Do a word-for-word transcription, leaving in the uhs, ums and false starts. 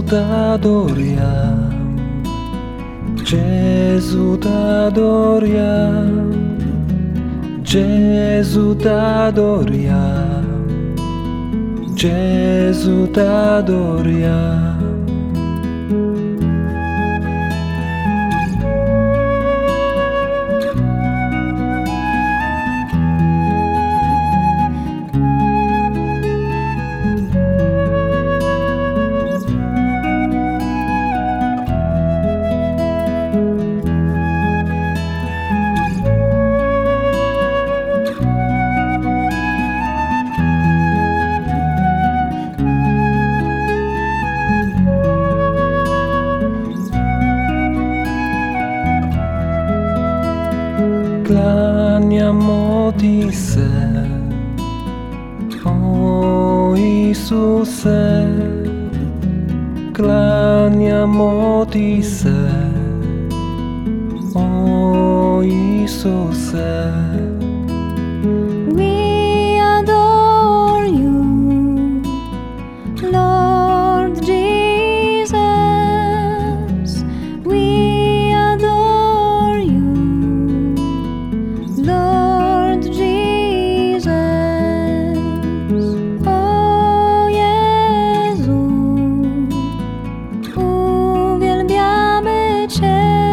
t'adoriam, Gesù t'adoriam, Gesù t'adoriam, Gesù t'adoriam. Klaniamo Ti se, o Isuse, klaniamo Ti se, o Isuse. We adore You, Lord Jesus. We adore You, Lord Jesus. O Jezu, uwielbiamy Cię.